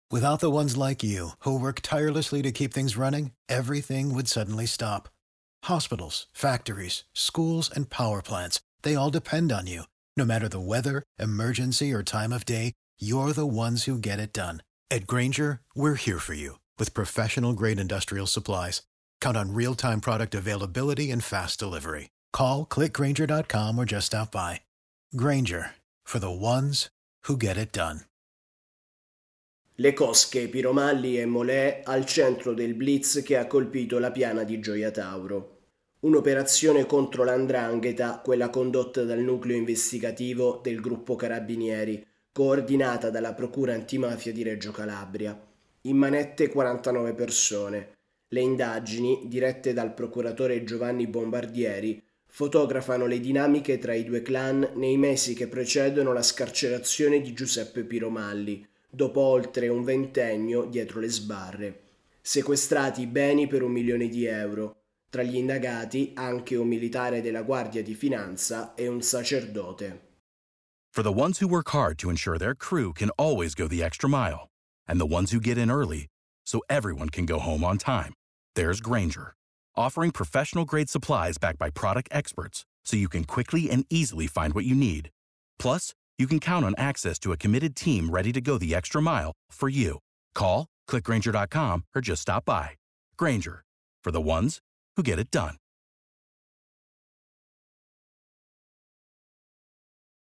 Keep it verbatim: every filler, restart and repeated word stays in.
Without the ones like you, who work tirelessly to keep things running, everything would suddenly stop. Hospitals, factories, schools, and power plants, they all depend on you. No matter the weather, emergency, or time of day, you're the ones who get it done. At Grainger, we're here for you with professional-grade industrial supplies. Count on real-time product availability and fast delivery. Call, click grainger dot com or just stop by. Grainger, for the ones who get it done. Le cosche, Piromalli e Molè al centro del blitz che ha colpito la piana di Gioia Tauro. Un'operazione contro l'Andrangheta, quella condotta dal nucleo investigativo del gruppo Carabinieri, coordinata dalla Procura Antimafia di Reggio Calabria. In manette quarantanove persone. Le indagini, dirette dal procuratore Giovanni Bombardieri, fotografano le dinamiche tra i due clan nei mesi che precedono la scarcerazione di Giuseppe Piromalli, dopo oltre un ventennio dietro le sbarre. Sequestrati beni per un milione di euro. Tra gli indagati anche un militare della Guardia di Finanza e un sacerdote. For the ones who work hard to ensure their crew can always go the extra mile, and the ones who get in early so everyone can go home on time, there's Grainger, offering professional-grade supplies backed by product experts so you can quickly and easily find what you need. Plus, you can count on access to a committed team ready to go the extra mile for you. Call, click grainger dot com, or just stop by. Grainger, for the ones who get it done.